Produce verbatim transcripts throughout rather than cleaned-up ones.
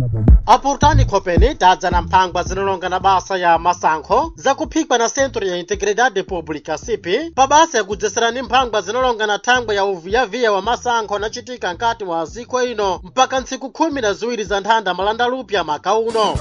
Apurtani Kopeni tadza na mphangwa zinalonga na basa ya masankho zakuphikwa na Centro ya Integridade Pública C P pa basa ya kudzesera mphangwa zinalonga na thangwe ya uviyaviya wa masankho anachitika nkati mwa ziko ino mpaka ntsiku khumi na ziwiri za nthanda malanda lupya maka uno.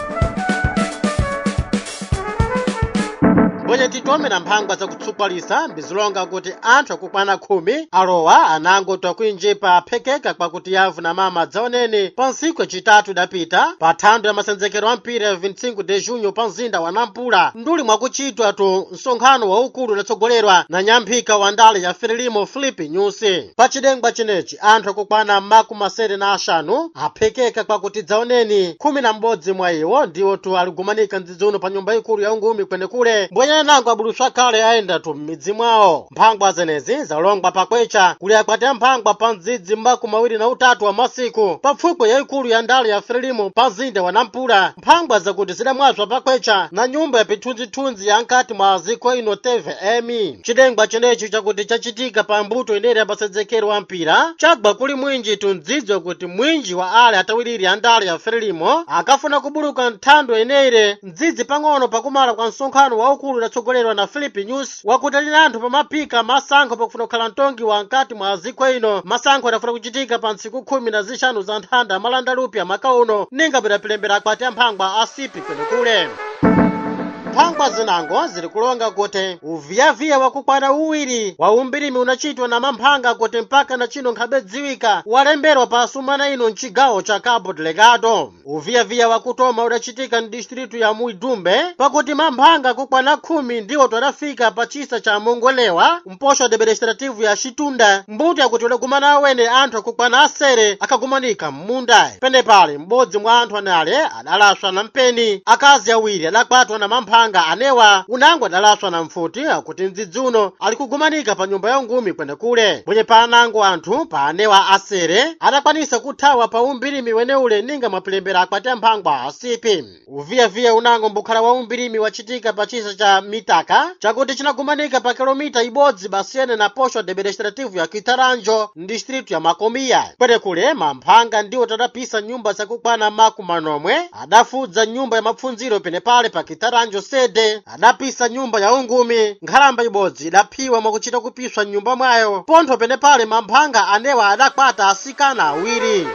Bwenye titome na mphangwa za kutsupalisa mbizilonga kuti anthu akukwana khumi alowa anangotwa kuinjipa aphekeka kwa kuti yavu na mama dzaoneni pa ntsiku yacitatu idapita pa thando ya masenzekero a mpira ya vinte e cinco de junho pa mzinda wa Nampula nduli mwakuchitwa tu msonkhano waukulu udatsogolerwa na nyamphika wa ndale ya Frelimo Filipe Nyusi. Pa cidengwa cinechi anthu akukwana makumi asere na axanu aphekeka kwa kuti dzaoneni khumi na m'bodzi mwa iwo ndiwo tu aligumanika ndzidzi uno pa nyumba ikulu ya ungumi kwenekule mbwenye nango abulutswa kale aenda tu m'midzi mwawo. Mphangwa zenezi zalongwa pakwecha kuli akwati mphangwa pa ndzidzi makumi mawiri na utatu wa masiku pa pfukwe ya ikulu ya ndale ya Frelimo pa mzinda wa Nampula. Mphangwa zakuti zidamwazwa pakwecha na nyumba ya pithunzithunzi ya nkati mwa ziko ino T V M. Cidengwa cinechi chakuti chachitika pa mbuto ineri ya masenzekero wa mpira chagwa kuli mwinji tu ndzidzo kuti mwinji wa ale atawiriri ya ndale ya Frelimo akafuna kubuluka nthando ineri ndzidzi pang'ono pakumala kwa msonkhano waukulu udatsogolerwa na Filipe Nyusi wakuti ali anthu pamapika masankho pakufuna kukhala mtongi wa nkati mwa ziko ino. Masankho adafuna kuchitika pa ntsiku khumi na zixanu za nthanda malanda lupya maka uno ninga bidapilembera akwati amphangwa asipi kwenekule. Mphangwa zinango ziri kulonga kuti uviyaviya wakukwana uwiri wa umbirimi unachitwa na mamphanga kuti mpaka na chino nkhabedziwika walemberwa pa asumana ino mcigawo cha Cabo Delgado. Uviyaviya wakutoma udachitika mdistritu ya Muidumbe pakuti mamphanga kukwana khumi ndiwo twadafika pa chisa cha Mongolewa mposho administrativu ya Chitunda mbuto yakuti udagumana awene anthu akukwana asere akagumanika m'munda. Pene pale m'bodzi mwa anthu anale adalaswa na mpeni, akazi awiri adakwatwa na mamphanga anewa unango adalaswa na mfuti akuti ndzidzi uno ali kugumanika pa nyumba ya ungumi kwenekule. Bwenye pa anango anthu pa anewa asere adakwanisa kuthawa pa umbirimi weneule ninga mapilembera akwati amphangwa asipi. Uviyaviya unango mbukhala wa umbirimi wachitika pa chisa cha Mitaka chakuti chinagumanika pa kilomita ibodzi basiyene na posho administrativu ya Kitaranjo mdistritu ya Makomiya. Kwenekule mamphanga ndiwo tadapisa nyumba zakukwana makumi manomwe adafudza nyumba ya mapfundziro pene pale pa Kitaranjo sede adapisa nyumba ya ungumi nkhalamba ibodzi idaphiwa mwakuchita kupiswa nyumba mwayo pontho pene pale mamphanga anewa adakwata asikana awiri.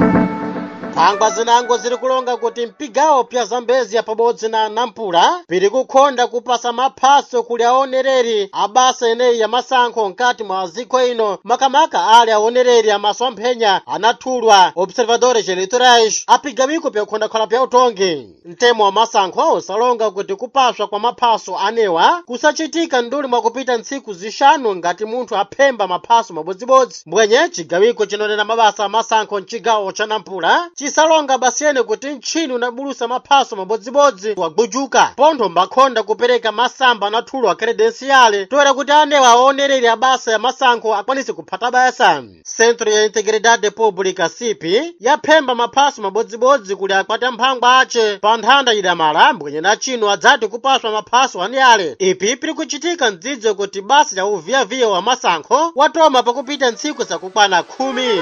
Mphangwa zinango ziri kulonga kuti mpigawo pya Zambezi ya pabodzi na Nampula piri kukhonda kupasa maphaso kuli aonereri abasa eneyi ya masankho nkati mwa ziko ino makamaka ali aonereri amasomphenya anathulwa observadores eleitorais apigawiko pya kukhondakhala pya utongi. Mtemo wa masankho usalonga kuti kupaswa kwa maphaso anewa kusachitika nduli mwakupita ntsiku zixanu ngati munthu aphemba maphaso mabodzibodzi. Mbwenye cigawiko cinonena mabasa masankho mcigawo cha Nampula chisalonga basiyene kuti nchini unabulusa maphaso mabodzibodzi wagbujuka pontho mbakhonda kupereka masamba anathulwa credenciale toera kuti anewa aonereri abasa ya masankho akwanise kuphata basa. Centro ya Integridade Pública C P yaphemba maphaso mabodzibodzi kuli akwati amphangwa ace pa nthanda idamala mbwenye na chino adzati kupaswa maphaso aniyale. Ipi piri kuchitika ndzidzo kuti basa ya uviyaviya wa masankho watoma pakupita ntsiku zakukwana khumi.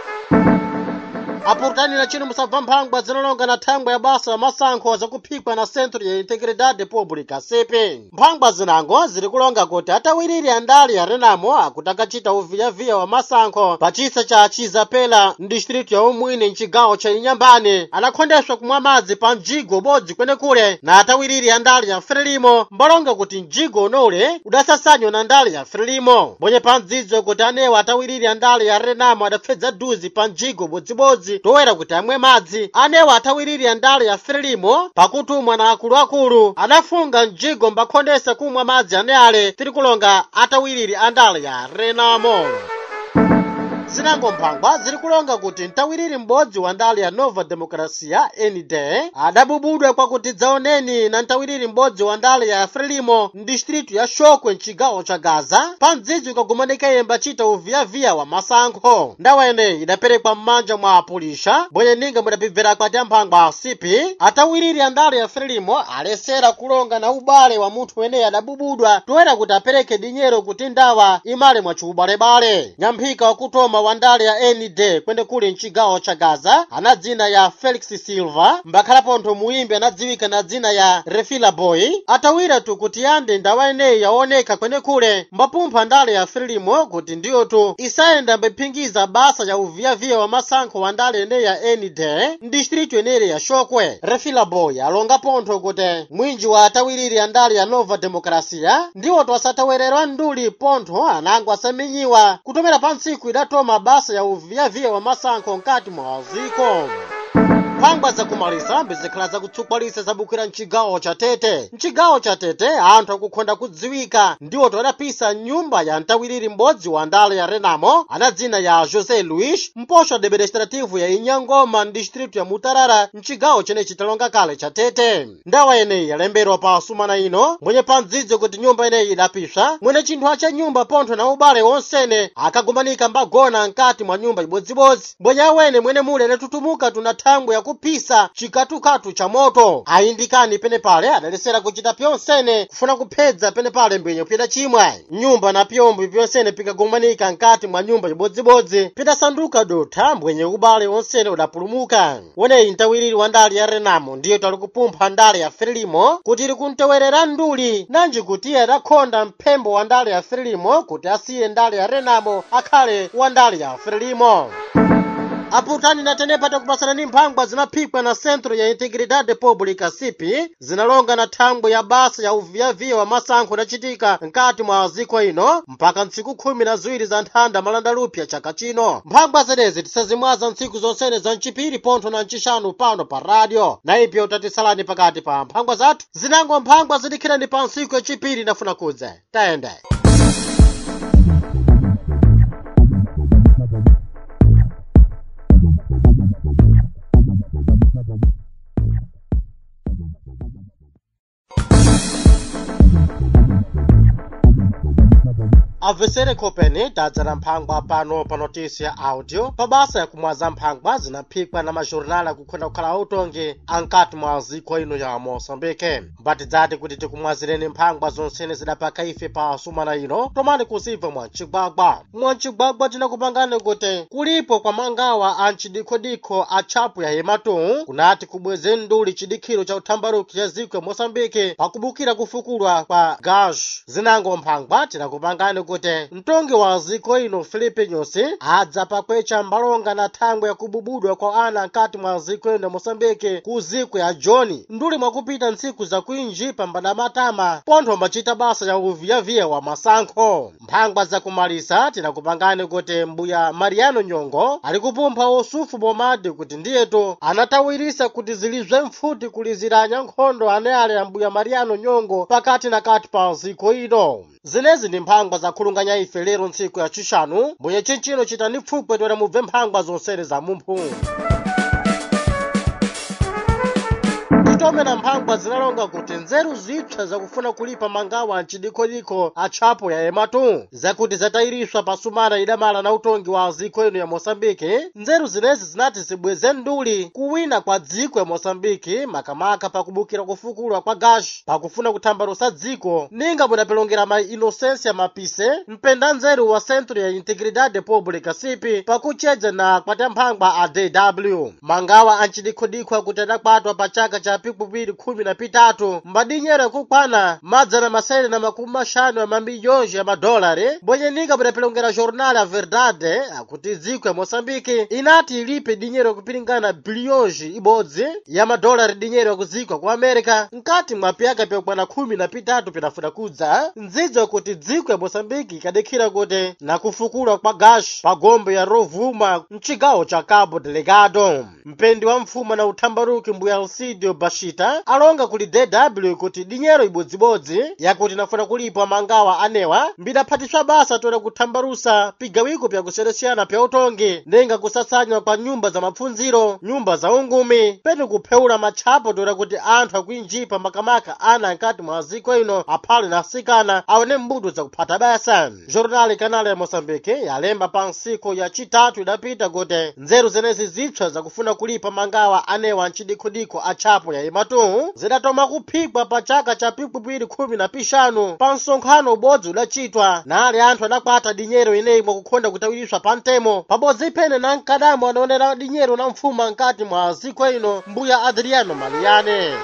Apurtani na chino musabva mphangwa zinalonga na thangwe ya basa ya masankho zakuphikwa na Centro ya Integridade Pública C P. Mphangwa zinango ziri kulonga kuti atawiriri andali ya Renamo akuti akachita uviyaviya wa masankho pa chisa cha Chizapela mdistritu ya umwini mcigawo cha Inyambane anakhondeswa kumwa madzi pa mjigo bodzi kwenekule na atawiriri andali ya Frelimo mbalonga kuti mjigo unole udasasanywa na ndali ya Frelimo. Bwenye pa ndzidzo kuti anewa atawiriri andali ya Renamo adapfedza duzi pa mjigo bodzibodzi toera kuti amwe madzi anewa atawiriri andale ya Frelimo pakutumwa na akuluakulu adafunga mjigo mbakhondesa kumwa madzi aneale tiri kulonga atawiriri andale ya Renamo. Zinango mphangwa ziri kulonga kuti ntawiriri m'bodzi wa ndale ya Nova Democracia N D adabubudwe kwa kuti dzaoneni na ntawiriri m'bodzi wa ndale ya Frelimo mdistritu ya Xokwe mcigawo cha Gaza pa mdzidzi ukagumanika yemba chita uviyaviya wa masankho. Ndawa eneyi idaperekwa m'manja mwa apulisha bwenye ninga mudapibvera akwati amphangwa asipi atawiriri andale ya Frelimo alesera kulonga na ubale wa munthu weneyi adabubudwa toera kuti apereke dinyero kuti ndawa imale mwa chiubalebale. Nyamphika wakutoma wa ndale ya N D kwene kuli mchigawo cha Gaza ana dzina ya Felix Silva mbakhala ntho muimbi anadziwika na dzina ya Refila Boy atawira tu kuti yande ndawa ineyi yaoneka kwene kule mbapumpha ndale ya Frelimo kuti ndiyo tu isayenda mbephingiza basa ya uviyaviya wa masankho wa ndale ineyi ya N D ndistritu ineyi ya Xokwe. Refila Boy alonga pontho kuti mwinji wa atawiriri ya ndale ya Nova Democracia ndiwo tu asatawererwa nduli pontho anango asaminyiwa kutomera pansiku idatoma basa ya uviyaviya wa masankho nkati mwa ziko. Mphangwa za kumaliza mbizikhala za kutsukwanisa zabukira mchigawo cha Tete. Mchigawo cha Tete anthu akukhonda kudziwika ndiwo todapisa nyumba ya ntawiriri m'bodzi wa ndale ya Renamo ana dzina ya José Luís mposho administrativu ya Inyangoma distritu ya Mutarara mchigawo chene chitalonga kale cha Tete. Ndawa ineyi yalemberwa pa sumana ino mwenye pandzidzo kuti nyumba ineyi idapisa mwene chinthu cha nyumba pontho na ubale wonsene akagumanika mbagona nkati mwa nyumba ibodzibodzi mbwenye awene mwene mule netutumuka tuna thangwe ya kupisa chikatukatu cha moto ayindikani pene pale adalesera kuchita pyonsene kufuna kuphedza pene pale mbwenye kupita chimwe nyumba na pyombo pyonsene pikagumanika nkati mwa nyumba ibodzibodzi pidasanduka dotha mbwenye ubale wonsene udapulumuka. Weneyi ntawiriri wa ndale ya Renamo ndiyo tali kupumpha ndale ya Frelimo kuti ili kuntewerera nduli nanji kuti adakhonda mphembo wa ndale ya Frelimo kuti asiye ndale ya Renamo akhale wa ndale ya Frelimo. Aputani na tenepa takupasana ni mphangwa zinaphikwa na Centro ya Integridade Pública C I P zinalonga na thangwe ya basa ya uviyaviya wa masankho nachitika nkati mwa ziko ino mpaka ntsiku khumi na ziwiri za nthanda malandalupya chaka chino. Mphangwa zedezi tisazimwaza ntsiku zonsene za mchipiri pontho na mchishanu pano pa radio na ipyo utatisalani pakati pa mphangwa zathu zinango mphangwa zidikhirani pa ntsiku ya chipiri nafuna kudze tayende. Avesere kopeni tadzana mphangwa pano pa notisi ya audio pabasa ya kumwaza mphangwa zinaphikwa na majornala kukhonda kukhala utongi ankati mwa ziko ino ya Mosambike. Mbati dzati kuti tikumwazireni mphangwa zonsene zidapaka ife pa sumana ino tomani kusiva mwa mchigwagwa. Mwa mchigwagwa tinakupangani kuti kulipo kwa mangawa a mchidikodiko a chapu ya Hematu kunati kubweze nduli chidikhiro cha uthambaruki ya ziko ya Mosambike pakubukira kufukulwa kwa gash. Zinango mphangwa tinakupangani kuti mtongi wa ziko ino Filipe Nyusi adza pakwecha mbalonga na thangwe ya kububudwa kwa ana nkati mwa ziko ino Mosambike ku ziko ya Joni nduli mwakupita ntsiku za kuinjipa mbada matama pontho machita basa ya uviyaviya wa masankho. Mphangwa za kumalisa tinakupangani kuti mbuya Mariano Nyongo ali kupumpha usufu bomadi kuti ndiyeto anatawirisa kuti zilizwe mfuti kuliziranya nkhondo aneale ya mbuya Mariano Nyongo pakati na kati pa ziko ino. Zinezi ni mphangwa za khulunganya ife lero ntsiku ya chishanu mwenye chinchino chitani pfupwe toera mubve mphangwa zonsene za mumphu. Titome na mphangwa zinalonga kuti nzeru zipsa zakufuna kulipa mangawa mchidikodiko a chapo ya Hematu zakuti zatayiriswa pasumana idamala na utongi wa ziko ino ya Mosambike. Nzeru zinezi zinati zibweze nduli kuwina kwa dziko ya Mosambike makamaka pakubukira kufukulwa kwa gash pakufuna kuthambarusa dziko ninga munapelongera ma Inocencia Mapise mpenda nzeru wa Centro ya Integridade Pública C I P pakuchedza na kwata mphangwa a D W. Mangawa anchidikodiko akuti adakwatwa pa chaka cha pikupiri khumi na pitatu mbadinyera kukwana madzana masere na makumi mashanu ya mamiliyonji ya madolari bwenye ninga budapelongera jornal ya Verdade akuti dziko ya Mosambike inati ilipe dinyero kupilingana biliyonji ibodzi ya madolari dinyero kuzikwa ku Amerika nkati mwa pyaka pyakwana khumi na pitatu pinafuna kudza. Ndzidzo kuti dziko ya Mosambike ikadekhira kuti na kufukulwa kwa gash pa gombe ya Rovuma mchigawo cha Cabo Delgado. Mpendi wa mfuma na uthambaruki mbuya Alcidio Bashita alonga kuli D W kuti dinyero ibodzibodzi yakuti nafuna kulipwa mangawa anewa mbidaphatiswa basa toera kuthambarusa pigawiko pya kuseresiyana pya utongi nenga kusasanywa kwa nyumba za mapfunziro nyumba za ungumi penu kupheula matchapo toera kuti anthu akuinjipa makamaka ana nkati mwa ziko ino aphale na asikana awone mbuto za kuphata basa. Jornali Kanale ya Mosambike yalemba pa nsiko ya chitatu idapita kuti nzeru zenezi zipsa zakufuna kulipa mangawa anewa mchidikodiko a chapo ya Hematu zidatoma kuphikwa adayikwa pa chaka cha pikwipiri khumi na pixanu pa msonkhano ubodzi udachitwa nali anthu adakwata dinyero ineyi mwakukhonda kutawiriswa pa mtemo pabodzi ipene na mkadamo anaonera dinyero na mfuma nkati mwa ziko ino mbuya Adriano Maliane.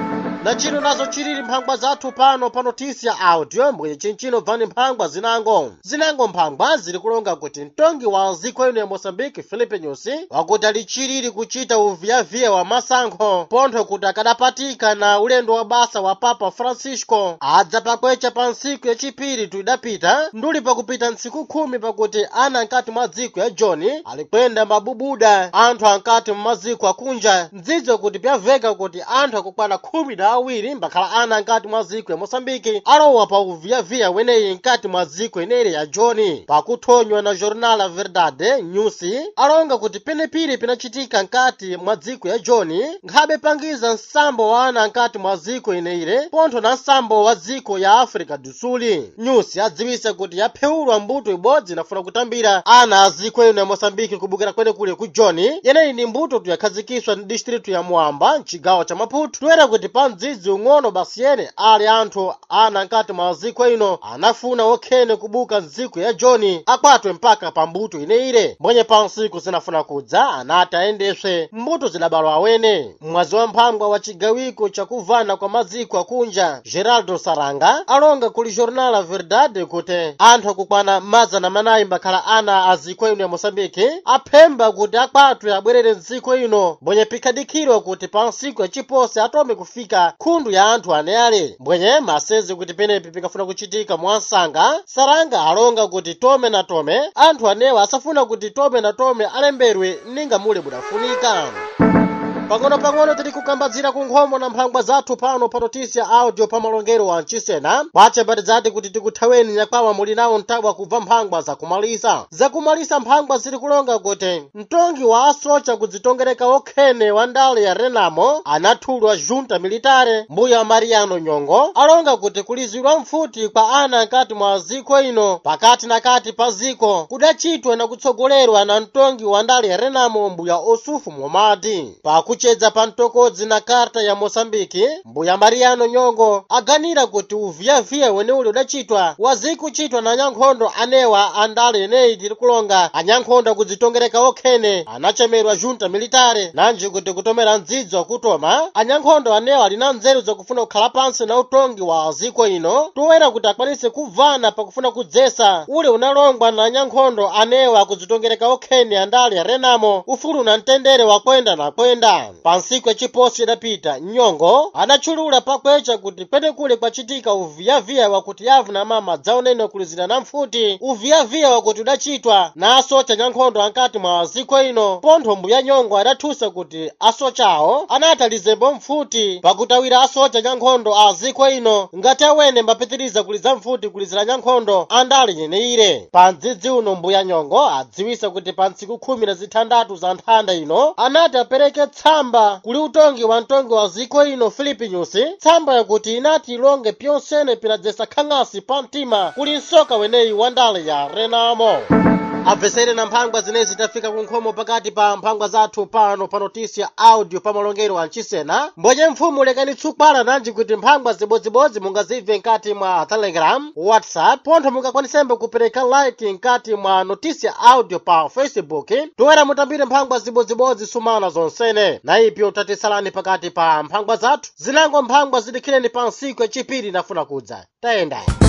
Na chino nazo chilili mphangwa zathu pano pa notisi ya audio mwenye chinchino bvani mphangwa zinango. Zinango mphangwa zili kulonga kuti mtongi wa ziko ino ya Mozambique Filipe Nyusi wakuti ali chilili kuchita uviaviya wa masankho pontho kuti akadapatika na ulendo wa basa wa Papa Francisco adza pakwecha pa ntsiku yachipiri tuidapita nduli pakupita ntsiku khumi pakuti ana nkati mwa dziko ya John alikwenda mabubuda anthu ankati mmaziko akunja ndzidzo kuti pyaveka kuti anthu akukwana khumi na awiri mbakhala ana nkati mwa ziko ya Mozambique alowa pa uviaviya weneyi nkati mwa ziko inere ya John. Pakuthonywa na Jornal La Verdade Nyusi alonga kuti penepili pinachitika nkati mwa ziko ya John nkhabe pangiza nsambo wa ana nkati mwa ziko ineire pontho na nsambo wa ziko ya Africa do Sul. Nyusi adziwisa kuti yapheulwa mbuto ibodzi inafuna kutambira ana a ziko ino ya Mozambique kubukira kwene kule ku John yeneyi ni mbuto tuyakhazikiswa ni distritu ya Mwamba mchigawo cha Maputo toera kuti pa mdzidzi ung'ono basi yene ali anthu ana nkati mwa ziko ino anafuna okhene kubuka nziko ya John akwatwe mpaka pa mbuto ineire mbwenye pa nsiku zinafuna kudza anati ayendeswe mbuto zidabalwa awene. Mwazi wa mphangwa wa chigawiko cha kuvana kwa maziko akunja Geraldo Saranga alonga kuli Jornal La Verdade kuti anthu akukwana mazana manayi mbakhala ana a ziko ino ya Mozambique aphemba kuti akwatwe abwerere nziko ino mbwenye pikadikirwa kuti pa nsiku yachipose atome kufika khundu ya anthu aneale mbwenye masezi kuti penepi pikafuna kuchitika mwansanga. Saranga alonga kuti tome na tome anthu anewa asafuna kuti tome na tome alemberwe ninga mule budafunika. Pang'ono pang'ono tili kukambadzira ku nkhomo na mphangwa zathu pano pa notisi ya audio pa malongero wa mchisena wache mbati zati kuti tikuthaweni nyakwawa muli nawo mtabwa kubva mphangwa zakumalisa. Zakumalisa mphangwa zili kulonga kuti mtongi wa asocha kudzitongereka okhene wa ndale ya Renamo anathulwa junta militare mbuya Mariano Nyongo alonga kuti kulizidwa mfuti kwa ana nkati mwa ziko ino pakati na kati pa ziko kudachitwa na kutsogolerwa na mtongi wa ndale ya Renamo mbuya Osufu Momadi. Pakuchedza pa mtokodzi na karta ya Mozambique mbuya Mariano Nyongo aganira kuti uviaviya wene uli udachitwa wazikuchitwa na anyankhondo anewa andale ineyi tili kulonga anyankhondo kudzitongereka okhene anachemerwa junta militare nanji kuti kutomera ndzidzo kutoma anyankhondo anewa alina nzeru zakufuna kukhala pansi na utongi wa ziko ino toera kuti akwanise kuvana pakufuna kudzesa ule unalongwa na anyankhondo anewa kudzitongereka okhene andale ya Renamo ufulu na mtendere wa kwenda na kwenda. Pa nsiku yachiposi idapita Nyongo anachulula pakwecha kuti pene kule kwachitika uviaviya wakuti yavu na mama dzaonene kulizira na mfuti uviaviya wakuti udachitwa na asocha nyankhondo ankati mwa ziko ino pontho mbuya Nyongo adathusa kuti asochawo anati lizembo mfuti pakutawira asocha nyankhondo a ziko ino ngati awene mbapitiriza kuliza mfuti kulizira nyankhondo andali yeneire. Pa mdzidzi uno mbuya Nyongo adziwisa kuti pa ntsiku khumi na zithandatu za nthanda ino anati apereke tsamba kuli utongi wa mtongi wa ziko ino Filipe Nyusi tsamba yakuti inati ilonge pyonsene pinadzesa khang'asi pa mtima kuli nsoka weneyi wa ndale ya Renamo. Abvesere na mphangwa zinezi tafika ku nkhomo pakati pa mphangwa zathu pano pa notisi ya audio pa malongero wa mchisena mbonye mfumu lekani tsukwana nanji kuti mphangwa zibodzibodzi mungazive nkati mwa Telegram, WhatsApp pontho mungakwanisembe kupereka like nkati mwa notisi ya audio pa Facebook toera mutambire mphangwa zibodzibodzi sumana zonsene na ipyo tatisalani pakati pa mphangwa zathu zinango mphangwa zidikhireni pa nsiku yachipiri nafuna kudza tayenda.